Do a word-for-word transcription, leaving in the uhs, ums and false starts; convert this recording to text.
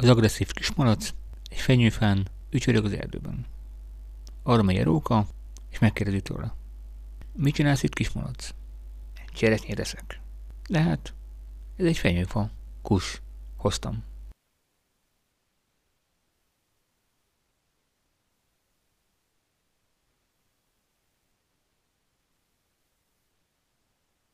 Az agresszív kismalac egy fenyőfán ücsörög az erdőben. Arra megy a róka, és megkérdezi tőle. Mit csinálsz itt, kismalac? Cseresznyét eszek. De hát, ez egy fenyőfa. Kus, hoztam.